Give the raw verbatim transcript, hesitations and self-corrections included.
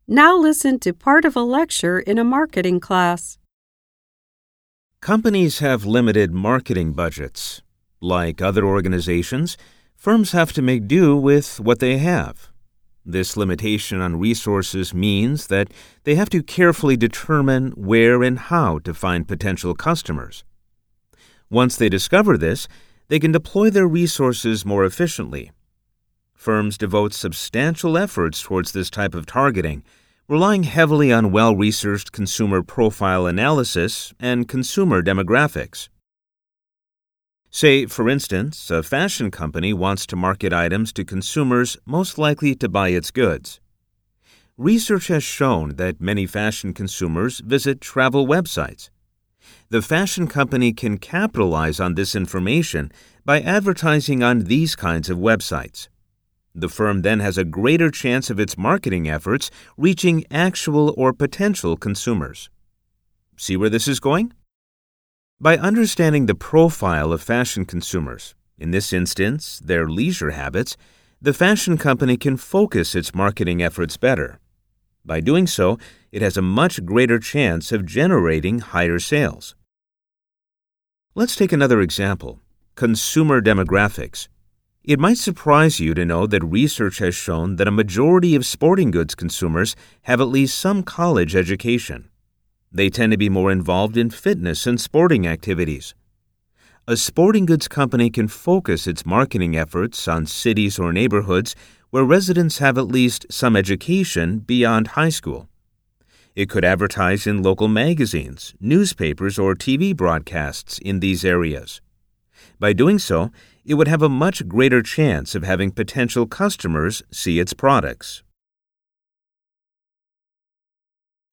Now listen to part of a lecture in a marketing class. Companies have limited marketing budgets. Like other organizations, firms have to make do with what they have. This limitation on resources means that they have to carefully determine where and how to find potential customers. Once they discover this, they can deploy their resources more efficiently. Firms devote substantial efforts towards this type of targeting, relying heavily on well-researched consumer profile analysis and consumer demographics. Say, for instance, a fashion company wants to market items to consumers most likely to buy its goods. Research has shown that many fashion consumers visit travel websites. The fashion company can capitalize on this information by advertising on these kinds of websites. The firm then has a greater chance of its marketing efforts reaching actual or potential consumers. See where this is going? By understanding the profile of fashion consumers, in this instance, their leisure habits, the fashion company can focus its marketing efforts better. By doing so, it has a much greater chance of generating higher sales. Let's take another example: consumer demographics. It might surprise you to know that research has shown that a majority of sporting goods consumers have at least some college education. They tend to be more involved in fitness and sporting activities. A sporting goods company can focus its marketing efforts on cities or neighborhoods where residents have at least some education beyond high school. It could advertise in local magazines, newspapers, or T V broadcasts in these areas. By doing so, it would have a much greater chance of having potential customers see its products.